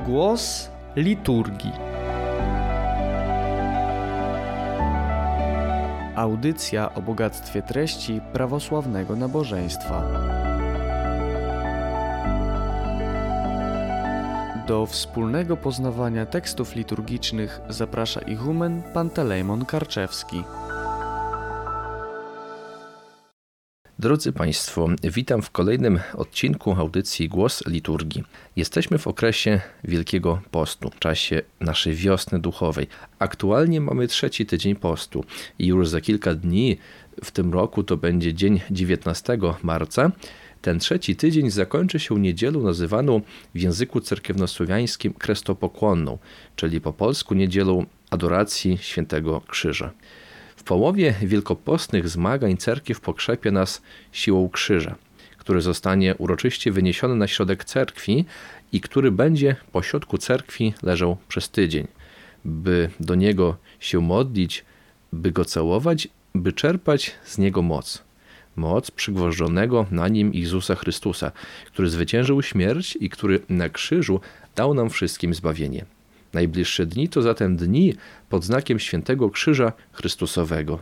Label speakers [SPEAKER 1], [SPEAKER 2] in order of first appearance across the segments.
[SPEAKER 1] Głos liturgii. Audycja o bogactwie treści prawosławnego nabożeństwa. Do wspólnego poznawania tekstów liturgicznych zaprasza ichumen Pantelejmon Karczewski.
[SPEAKER 2] Drodzy Państwo, witam w kolejnym odcinku audycji Głos Liturgii. Jesteśmy w okresie Wielkiego Postu, w czasie naszej wiosny duchowej. Aktualnie mamy 3. tydzień postu i już za kilka dni w tym roku to będzie dzień 19 marca. Ten 3. tydzień zakończy się niedzielą nazywaną w języku cerkiewnosłowiańskim krestopokłonną, czyli po polsku niedzielą adoracji Świętego Krzyża. W połowie wielkopostnych zmagań cerkiew pokrzepie nas siłą krzyża, który zostanie uroczyście wyniesiony na środek cerkwi i który będzie po środku cerkwi leżał przez tydzień, by do niego się modlić, by go całować, by czerpać z niego moc. Moc przygwożdżonego na nim Jezusa Chrystusa, który zwyciężył śmierć i który na krzyżu dał nam wszystkim zbawienie. Najbliższe dni to zatem dni pod znakiem Świętego Krzyża Chrystusowego.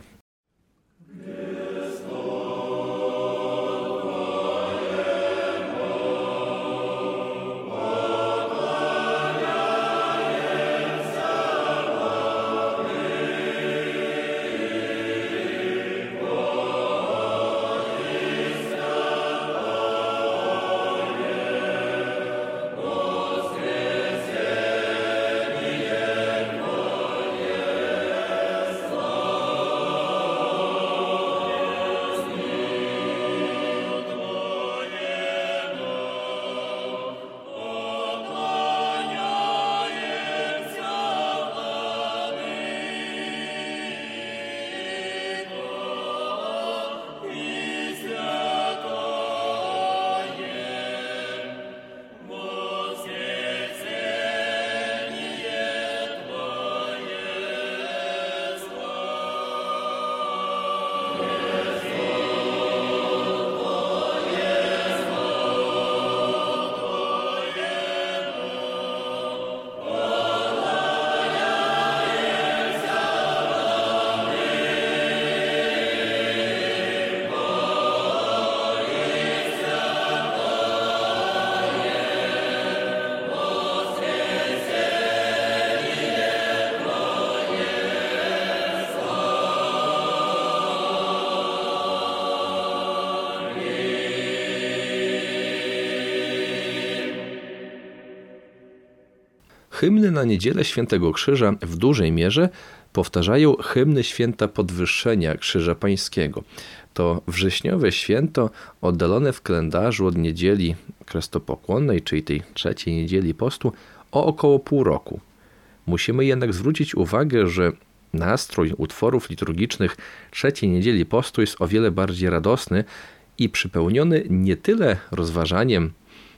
[SPEAKER 2] Hymny na niedzielę Świętego Krzyża w dużej mierze powtarzają hymny święta podwyższenia Krzyża Pańskiego. To wrześniowe święto oddalone w kalendarzu od niedzieli krestopokłonnej, czyli tej 3. niedzieli postu, o około pół roku. Musimy jednak zwrócić uwagę, że nastrój utworów liturgicznych 3. niedzieli postu jest o wiele bardziej radosny i przypełniony nie tyle rozważaniem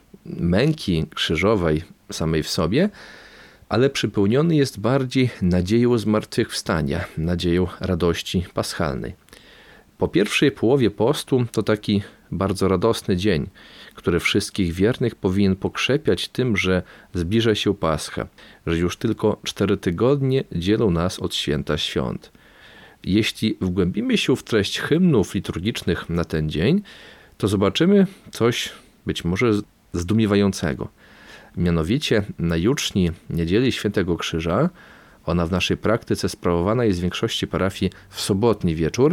[SPEAKER 2] męki krzyżowej samej w sobie, ale przypełniony jest bardziej nadzieją zmartwychwstania, nadzieją radości paschalnej. Po pierwszej połowie postu to taki bardzo radosny dzień, który wszystkich wiernych powinien pokrzepiać tym, że zbliża się Pascha, że już tylko 4 tygodnie dzielą nas od święta świąt. Jeśli wgłębimy się w treść hymnów liturgicznych na ten dzień, to zobaczymy coś być może zdumiewającego. Mianowicie na juczni niedzieli Świętego Krzyża, ona w naszej praktyce sprawowana jest w większości parafii w sobotni wieczór,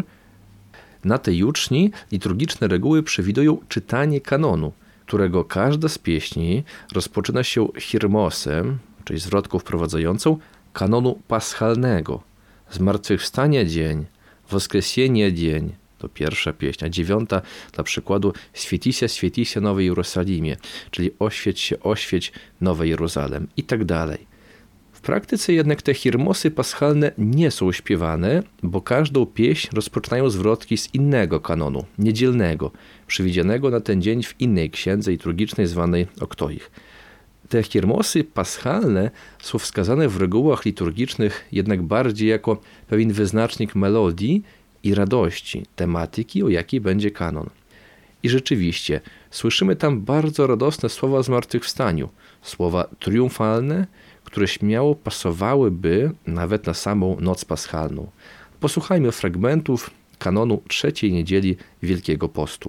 [SPEAKER 2] na tej juczni liturgiczne reguły przewidują czytanie kanonu, którego każda z pieśni rozpoczyna się hirmosem, czyli zwrotką wprowadzającą kanonu paschalnego. Zmartwychwstania dzień, Woskresienie dzień, to pierwsza pieśń, a 9 dla przykładu Świętisia Nowe Jerozolimie, czyli oświeć Nowe Jeruzalem i tak dalej. W praktyce jednak te hirmosy paschalne nie są śpiewane, bo każdą pieśń rozpoczynają zwrotki z innego kanonu, niedzielnego, przewidzianego na ten dzień w innej księdze liturgicznej zwanej Oktoich. Te hirmosy paschalne są wskazane w regułach liturgicznych jednak bardziej jako pewien wyznacznik melodii i radości, tematyki, o jakiej będzie kanon. I rzeczywiście Słyszymy tam bardzo radosne słowa o zmartwychwstaniu, słowa triumfalne, które śmiało pasowałyby nawet na samą noc paschalną. Posłuchajmy fragmentów kanonu trzeciej niedzieli Wielkiego Postu.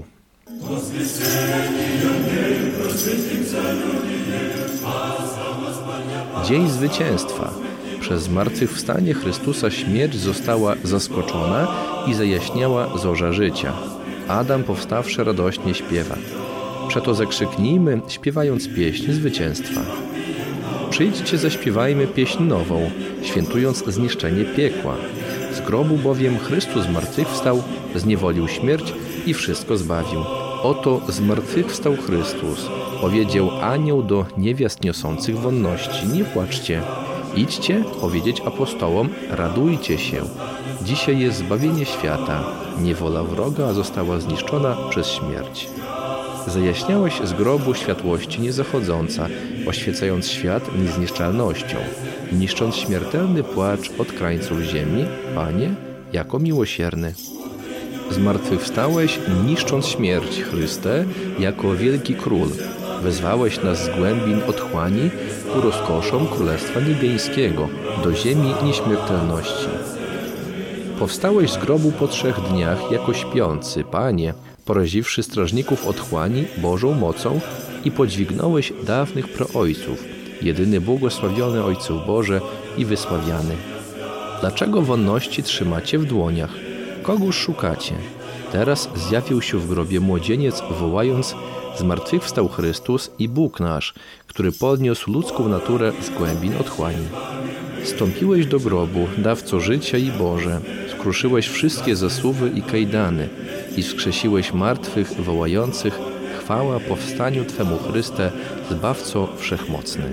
[SPEAKER 2] Dzień zwycięstwa. Przez zmartwychwstanie Chrystusa śmierć została zaskoczona i zajaśniała zorza życia. Adam powstawszy radośnie śpiewa. Przeto zakrzyknijmy, śpiewając pieśń zwycięstwa. Przyjdźcie, zaśpiewajmy pieśń nową, świętując zniszczenie piekła. Z grobu bowiem Chrystus zmartwychwstał, zniewolił śmierć i wszystko zbawił. Oto zmartwychwstał Chrystus. Powiedział anioł do niewiast niosących wonności: nie płaczcie. Idźcie powiedzieć apostołom: radujcie się. Dzisiaj jest zbawienie świata. Niewola wroga została zniszczona przez śmierć. Zajaśniałeś z grobu światłości niezachodząca, oświecając świat niezniszczalnością, niszcząc śmiertelny płacz od krańców ziemi, Panie, jako miłosierny. Zmartwychwstałeś, niszcząc śmierć, Chryste, jako wielki król. Wezwałeś nas z głębin otchłani ku rozkoszom Królestwa Niebiańskiego, do ziemi nieśmiertelności. Powstałeś z grobu po 3 dniach jako śpiący, Panie, poraziwszy strażników otchłani Bożą mocą i podźwignąłeś dawnych praojców, jedyny błogosławiony Ojców Boże i wysławiany. Dlaczego wonności trzymacie w dłoniach? Kogóż szukacie? Teraz zjawił się w grobie młodzieniec, wołając: zmartwychwstał Chrystus i Bóg nasz, który podniósł ludzką naturę z głębin otchłani. Stąpiłeś do grobu, dawco życia i Boże, skruszyłeś wszystkie zasuwy i kajdany i wskrzesiłeś martwych, wołających: chwała powstaniu Twemu, Chryste, Zbawco Wszechmocny.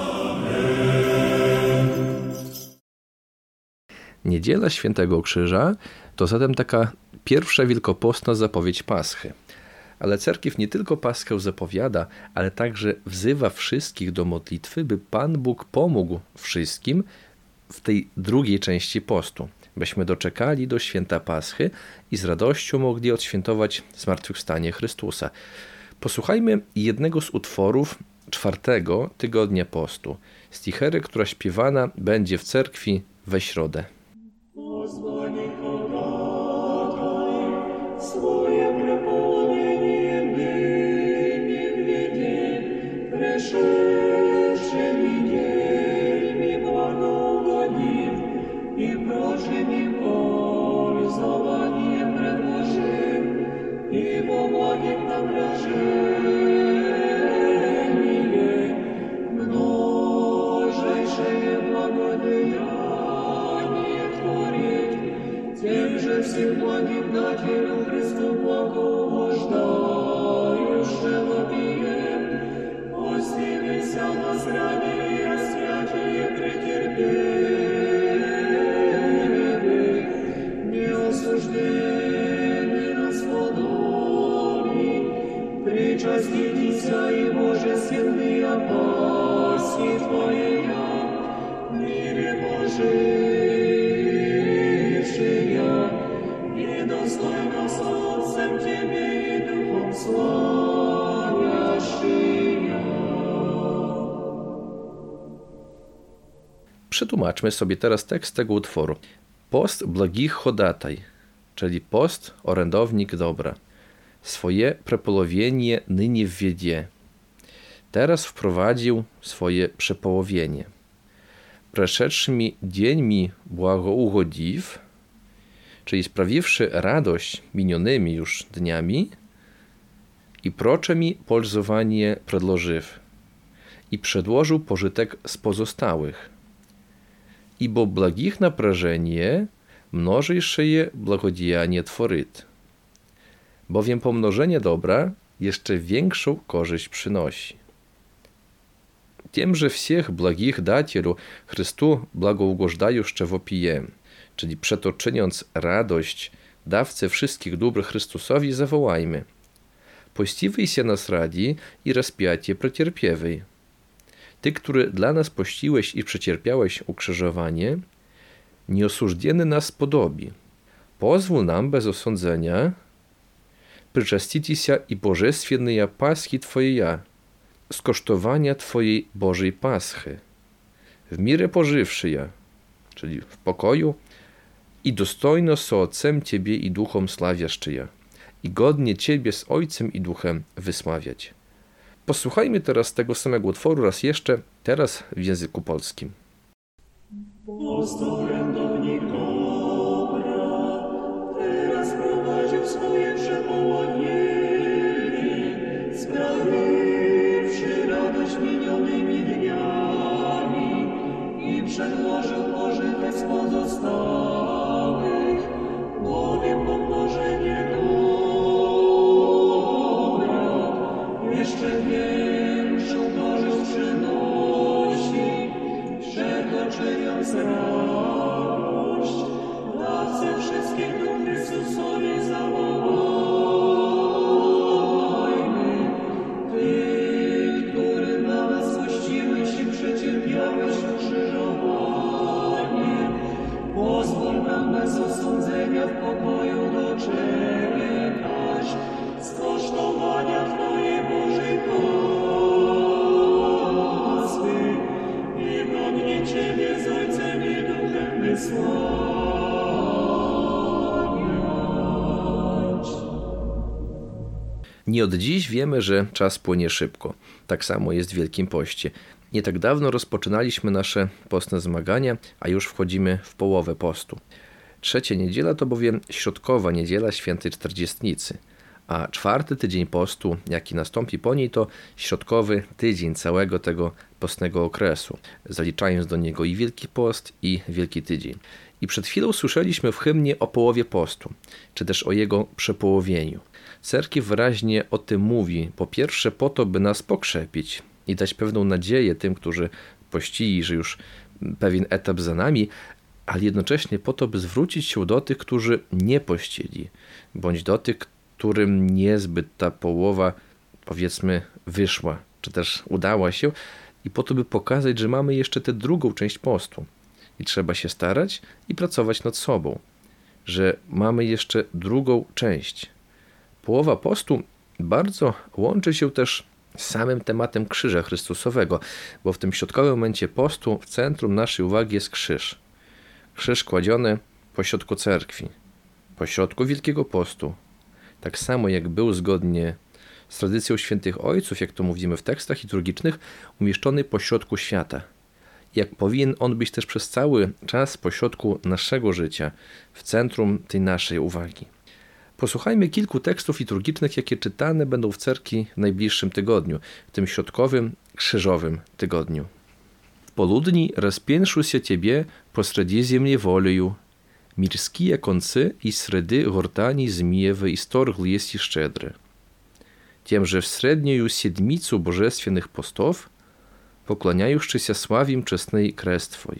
[SPEAKER 2] Niedziela Świętego Krzyża to zatem taka pierwsza wielkopostna zapowiedź Paschy. Ale cerkiew nie tylko Paschę zapowiada, ale także wzywa wszystkich do modlitwy, by Pan Bóg pomógł wszystkim w tej drugiej części postu, byśmy doczekali do święta Paschy i z radością mogli odświętować zmartwychwstanie Chrystusa. Posłuchajmy jednego z utworów 4. tygodnia postu, stichery, która śpiewana będzie w cerkwi we środę.
[SPEAKER 3] Всем благим дателю Христу благоуждающего вопием, осилися нас ранее и распятие претерпели, неосужденный на сподоби, причаститесь и божественные опаси Твоя, в мире Божий. Достойно солнцем Тебе и Духом славящия.
[SPEAKER 2] Przetłumaczmy sobie teraz tekst tego utworu. Post blagich hodataj, czyli post orędownik dobra. Swoje przepołowienie nynie wwiedzie. Teraz wprowadził swoje przepołowienie. Przeszedłszy dzień mi błagougodziw, czyli sprawiwszy radość minionymi już dniami, i procze mi polzowanie przedłożyw, i przedłożył pożytek z pozostałych. I bo blagich naprażenie, mnożejsze je blagodziejanie tworyt. Bowiem pomnożenie dobra jeszcze większą korzyść przynosi. Тем всех благих дателю Христу благоугождающе вопієм, czyli przeto czyniąc radość dawcy wszystkich dóbr Chrystusowi, zawołajmy: pościwej się nas radzi i rozpiacie przecierpiewej. Ty, który dla nas pościłeś i przecierpiałeś ukrzyżowanie, nieosłużdzieny nas podobi. Pozwól nam bez osądzenia причаститеся и божественные Пасхи Твоя, skosztowania Twojej Bożej Paschy, w mirę pożywszy, czyli w pokoju, i dostojno z Ojcem Ciebie i Duchom slawiaszczy, i godnie Ciebie z Ojcem i Duchem wysławiać. Posłuchajmy teraz tego samego utworu raz jeszcze, teraz w języku polskim.
[SPEAKER 3] Orędownik dobra, teraz prowadził swoje przepołudnie, sprawiwszy radość minionymi dniami i przedłożył pożytek z pozostałych, bowiem pomnożenie dobra jeszcze większą korzyść przynosi, przekroczając radość, dawcy wszystkich dóbr Chrystusowi zawołajmy. Ty, który dla nas złościłeś i przecierpiałeś ukrzyżowanie, pozwól nam bez osądzenia w pokoju doczekać skosztowania Twojej Bożej Paschy i godnie Ciebie z Ojcem i Duchem wysławiać.
[SPEAKER 2] Nie od dziś wiemy, że czas płynie szybko. Tak samo jest w Wielkim Poście. Nie tak dawno rozpoczynaliśmy nasze postne zmagania, a już wchodzimy w połowę postu. Trzecia niedziela to bowiem środkowa niedziela Świętej Czterdziestnicy, a czwarty tydzień postu, jaki nastąpi po niej, to środkowy tydzień całego tego postnego okresu, zaliczając do niego i Wielki Post, i Wielki Tydzień. I przed chwilą słyszeliśmy w hymnie o połowie postu, czy też o jego przepołowieniu. Cerkiew wyraźnie o tym mówi, po pierwsze po to, by nas pokrzepić i dać pewną nadzieję tym, którzy pościli, że już pewien etap za nami, ale jednocześnie po to, by zwrócić się do tych, którzy nie pościli, bądź do tych, którym niezbyt ta połowa, powiedzmy, wyszła, czy też udała się, i po to, by pokazać, że mamy jeszcze tę drugą część postu i trzeba się starać i pracować nad sobą, że mamy jeszcze drugą część. Połowa postu bardzo łączy się też z samym tematem krzyża Chrystusowego, bo w tym środkowym momencie postu w centrum naszej uwagi jest krzyż. Krzyż kładziony pośrodku cerkwi, pośrodku Wielkiego Postu, tak samo jak był zgodnie z tradycją świętych ojców, jak to mówimy w tekstach liturgicznych, umieszczony pośrodku świata. Jak powinien on być też przez cały czas pośrodku naszego życia, w centrum tej naszej uwagi. Posłuchajmy kilku tekstów liturgicznych, jakie czytane będą w cerkwi w najbliższym tygodniu, w tym środkowym, krzyżowym tygodniu. W poludni rozpięszył się Ciebie posреди земли волею, мирские концы и среды гортани змеевы исторгл есть и щедры. Тем же в среднюю седмицу божественных постов, poklaniajuszczyся sławim czesnej kres Twój.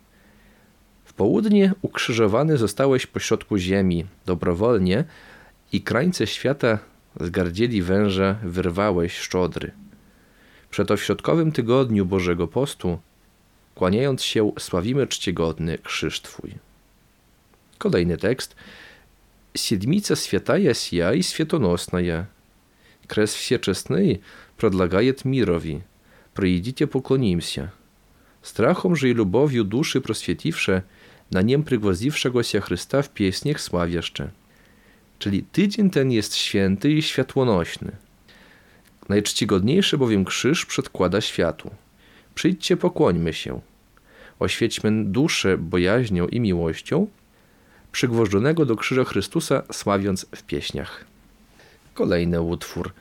[SPEAKER 2] W południe ukrzyżowany zostałeś pośrodku ziemi, dobrowolnie, i krańce świata z gardzieli węża wyrwałeś szczodry. Przeto w środkowym tygodniu Bożego Postu, kłaniając się, sławimy czcigodny krzyż Twój. Kolejny tekst. Седмица святая сия и светоносная. Крест всечестный предлагает мирови. Приидите поклонимся. Strachom же и любовью души просветивше, na niem przygwoździwszego Chrysta w pieśniach sławieszcze. Czyli tydzień ten jest święty i światłonośny. Najczcigodniejszy bowiem krzyż przedkłada światu. Przyjdźcie, pokłońmy się. Oświećmy duszę bojaźnią i miłością, przygwożdżonego do krzyża Chrystusa sławiąc w pieśniach. Kolejny utwór.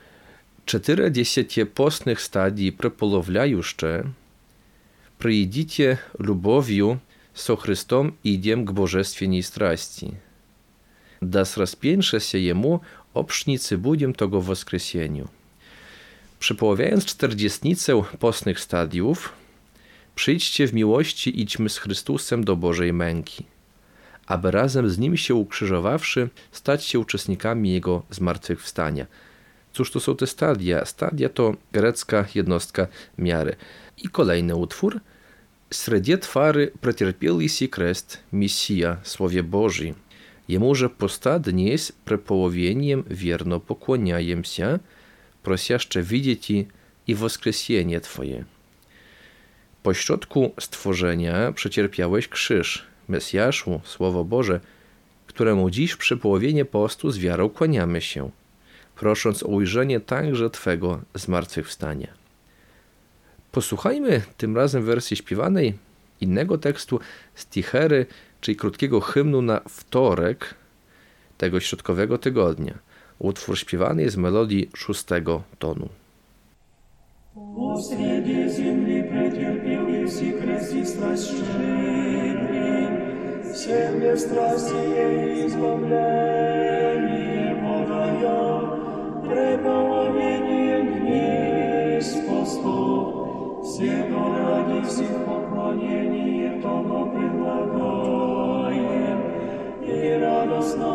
[SPEAKER 2] 40 postnych stadii przepołowляюще, приидите любовью со Христом идем к божественной страсти. Да с распеншися Ему обшниcy будем того woskreseniu. Przepoławiając czterdziestnicę postnych stadiów, przyjdźcie w miłości, idźmy z Chrystusem do Bożej męki, aby razem z Nim się ukrzyżowawszy, stać się uczestnikami Jego zmartwychwstania. Cóż to są te stadia? Stadia to grecka jednostka miary. I kolejny utwór. Среди твары претерпел Иси крест, Мессия, Słowie Boży. Ему же поста днесь преполовением верно поклоняемся, просяще widzieć i woskreślenie Twoje. Pośrodku stworzenia przecierpiałeś krzyż, Mesjaszu, Słowo Boże, któremu dziś przy połowienie postu z wiarą kłaniamy się, prosząc o ujrzenie także Twego zmartwychwstania. Posłuchajmy tym razem wersji śpiewanej innego tekstu z Tichery, czyli krótkiego hymnu na wtorek tego środkowego tygodnia. Utwór śpiewany jest z melodii 6 tonu.
[SPEAKER 3] Посреди земли претерпел Иисус крест и страсть щедрый, всем без страсти и избавление подая, преполовением дней спостов, всего ради всех поклонение того предлагаем, и радостно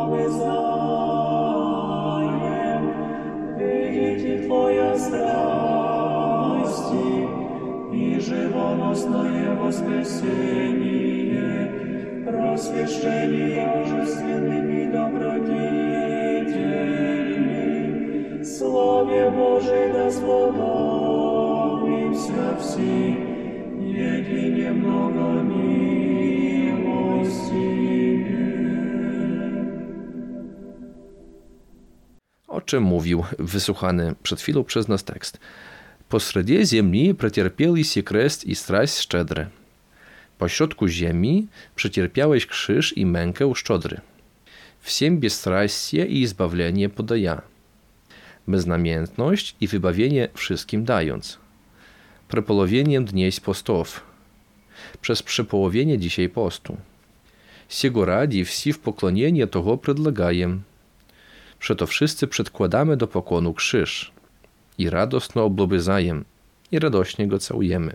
[SPEAKER 3] обязаем, видите Твоя страсти и живоносное воскресение, просвещение божественными добродетелями, славе Божией да сподобимся все, едине много милостивее.
[SPEAKER 2] O czym mówił wysłuchany przed chwilą przez nas tekst. Посреди земли претерпел Иисус крест и страсть szczedre. Pośrodku ziemi przecierpiałeś krzyż i mękę szczodry. Всем бесстрастие i zbawienie podaja. Beznamiętność i wybawienie wszystkim dając. Prepolowieniem dnieś postów. Przez przepołowienie dzisiaj postu. Siego radzi wsi w poklonienie того предлагаем. Przeto wszyscy przedkładamy do pokłonu krzyż i radosno oblobyzajem i radośnie go całujemy.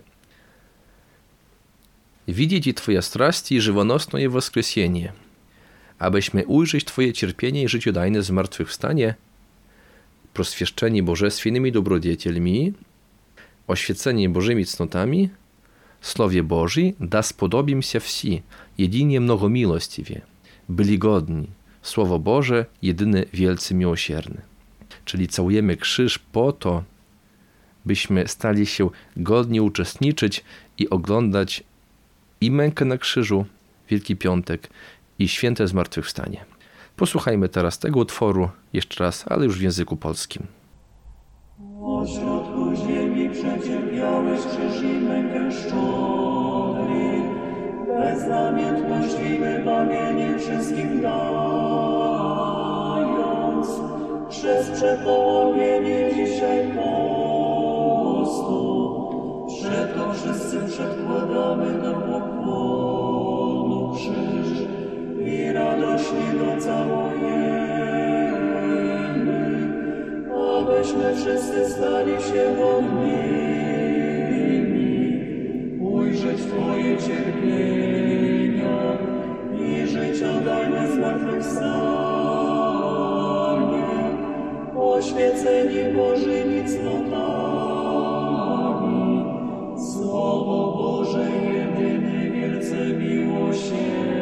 [SPEAKER 2] Widzieć Twoja straść i żywonosne woskreślenie, abyśmy ujrzeć Twoje cierpienie i życiodajne zmartwychwstanie, proswieszczeni bożeственnymi dobrodziecielmi, oświeceni Bożymi cnotami, Słowie Bożej da spodobimся wsi, jedynie mnogomiłostiwie, byli godni, Słowo Boże jedyny wielcy miłosierny. Czyli całujemy krzyż po to, byśmy stali się godni uczestniczyć i oglądać i mękę na krzyżu, Wielki Piątek i święte zmartwychwstanie. Posłuchajmy teraz tego utworu jeszcze raz, ale już w języku polskim.
[SPEAKER 3] Po środku ziemi przecierpiałeś krzyż i mękę szczodry, beznamiętność i wybawienie wszystkim dając, przez przepołowienie dzisiaj postu, przeto wszyscy przedkładamy do pokłonu krzyż i radośnie go całujemy, abyśmy wszyscy stali się godnymi ujrzeć Twoje cierpienia i życiodajne zmartwychwstanie, oświeceni Bożymi cnotami, Słowo Boże jedyny wielce miłosierny.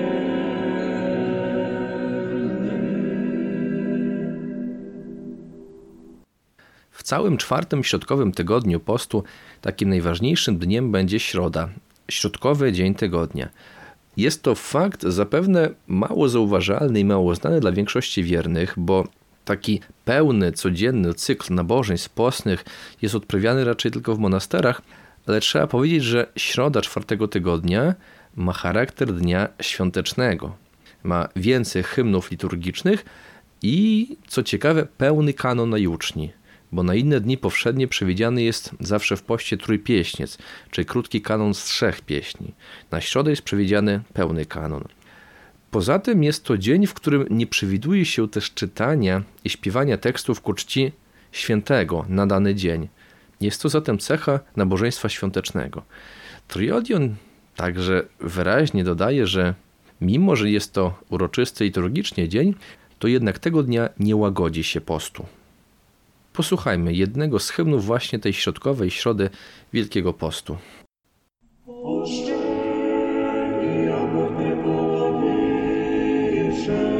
[SPEAKER 2] W całym czwartym środkowym tygodniu postu takim najważniejszym dniem będzie środa, środkowy dzień tygodnia. Jest to fakt zapewne mało zauważalny i mało znany dla większości wiernych, bo taki pełny, codzienny cykl nabożeństw postnych jest odprawiany raczej tylko w monasterach, ale trzeba powiedzieć, że środa czwartego tygodnia ma charakter dnia świątecznego. Ma więcej hymnów liturgicznych i, co ciekawe, pełny kanon na juczni, bo na inne dni powszednie przewidziany jest zawsze w poście trójpieśniec, czyli krótki kanon z 3 pieśni. Na środę jest przewidziany pełny kanon. Poza tym jest to dzień, w którym nie przewiduje się też czytania i śpiewania tekstów ku czci świętego na dany dzień. Jest to zatem cecha nabożeństwa świątecznego. Triodion także wyraźnie dodaje, że mimo, że jest to uroczysty liturgicznie dzień, to jednak tego dnia nie łagodzi się postu. Posłuchajmy jednego z hymnów właśnie tej środkowej środy Wielkiego Postu.
[SPEAKER 3] Oszczędni, aby nie połowisze,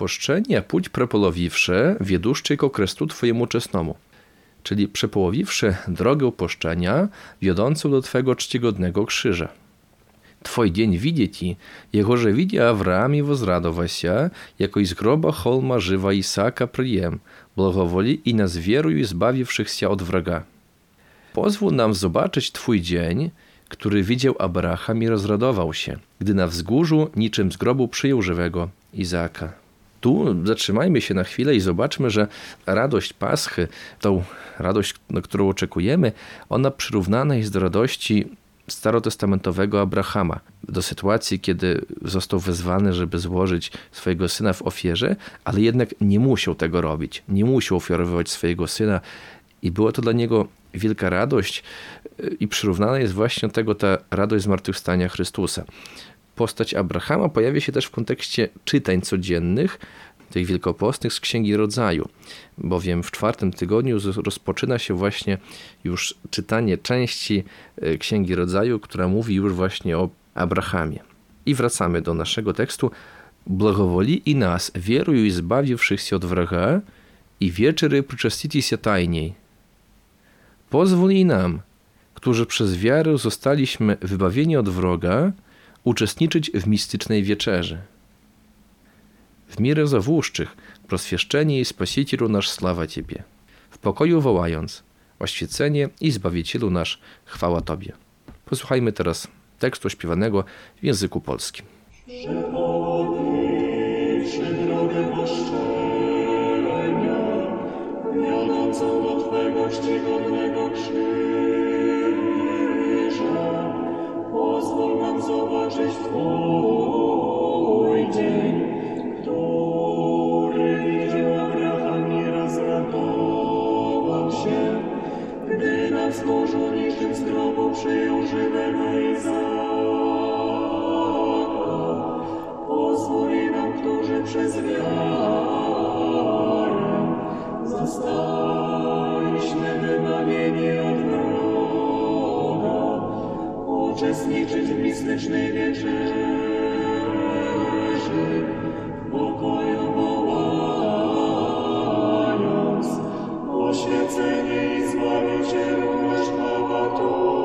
[SPEAKER 2] paszczenia pуть przepołowiwszy, wieduszczy ko krestu twojemu czesnemu. Czyli przepołowiwszy drogę paszczenia, wiodącą do twego czcigodnego krzyża. Twój dzień widzieć, jego że widzi Awram i wozradowa się, jako z groba holma żywa Isaka przyjem, благовoli i nas wieruj i zbawiwszych się od wroga. Pozwól nam zobaczyć twój dzień, który widział Abraham i rozradował się, gdy na wzgórzu niczym z grobu przyjął żywego Izaka. Tu zatrzymajmy się na chwilę i zobaczmy, że radość Paschy, tą radość, na którą oczekujemy, ona przyrównana jest do radości starotestamentowego Abrahama, do sytuacji, kiedy został wezwany, żeby złożyć swojego syna w ofierze, ale jednak nie musiał tego robić, nie musiał ofiarowywać swojego syna i była to dla niego wielka radość i przyrównana jest właśnie do tego ta radość zmartwychwstania Chrystusa. Postać Abrahama pojawia się też w kontekście czytań codziennych, tych wielkopostnych z Księgi Rodzaju, bowiem w 4. tygodniu rozpoczyna się właśnie już czytanie części Księgi Rodzaju, która mówi już właśnie o Abrahamie. I wracamy do naszego tekstu. Благоволи i nas, wieruj i zbawiwszych się od wroga, i wieczery przyczastiti się tajniej. Pozwól i nam, którzy przez wiarę zostaliśmy wybawieni od wroga, uczestniczyć w mistycznej wieczerzy. W mirę zawłuszczych, proswieszczenie i Spasicielu nasz sława Ciebie. W pokoju wołając, oświecenie i Zbawicielu nasz chwała Tobie. Posłuchajmy teraz tekstu śpiewanego w języku polskim.
[SPEAKER 3] Przepołowiwszy drogę paszczenia, wiodącą do Twego czcigodnego krzyża, pozwól nam zobaczyć Twój dzień, który widział Abraham i rozradował się, gdy na wzgórzu niczym z grobu przyjął żywego Izaka. Pozwól nam, którzy przez wiarę zostaliśmy wybawieni od wroga, uczestniczyć w mistycznej wieczerzy, w pokoju wołając, oświecenie i Zbawicielu nasz chwała Tobie.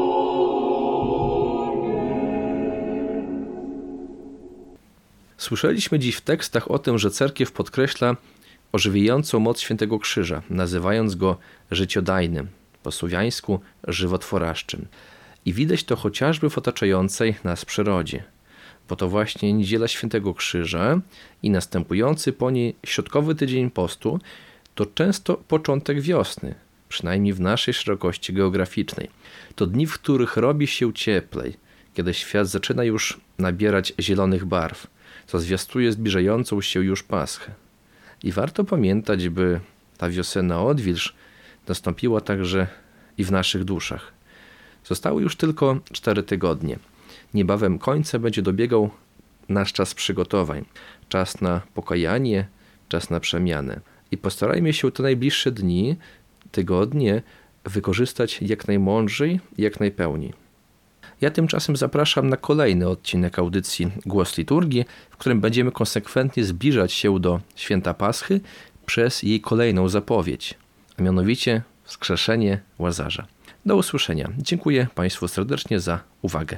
[SPEAKER 2] Słyszeliśmy dziś w tekstach o tym, że cerkiew podkreśla ożywiającą moc Świętego Krzyża, nazywając go życiodajnym, po słowiańsku żywotworaszczym. I widać to chociażby w otaczającej nas przyrodzie. Bo to właśnie Niedziela Świętego Krzyża i następujący po niej środkowy tydzień postu to często początek wiosny, przynajmniej w naszej szerokości geograficznej. To dni, w których robi się cieplej, kiedy świat zaczyna już nabierać zielonych barw, co zwiastuje zbliżającą się już Paschę. I warto pamiętać, by ta wiosenna odwilż nastąpiła także i w naszych duszach. Zostały już tylko 4 tygodnie. Niebawem końca będzie dobiegał nasz czas przygotowań, czas na pokajanie, czas na przemianę. I postarajmy się te najbliższe dni, tygodnie wykorzystać jak najmądrzej, jak najpełniej. Ja tymczasem zapraszam na kolejny odcinek audycji Głos Liturgii, w którym będziemy konsekwentnie zbliżać się do Święta Paschy przez jej kolejną zapowiedź, a mianowicie wskrzeszenie Łazarza. Do usłyszenia. Dziękuję Państwu serdecznie za uwagę.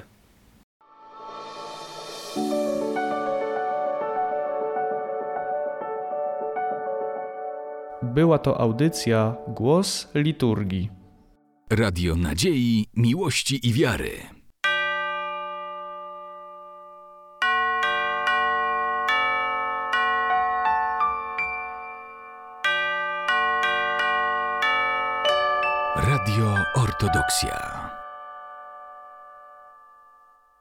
[SPEAKER 1] Była to audycja Głos Liturgii.
[SPEAKER 4] Radio Nadziei, Miłości i Wiary. Radio Ortodoksja.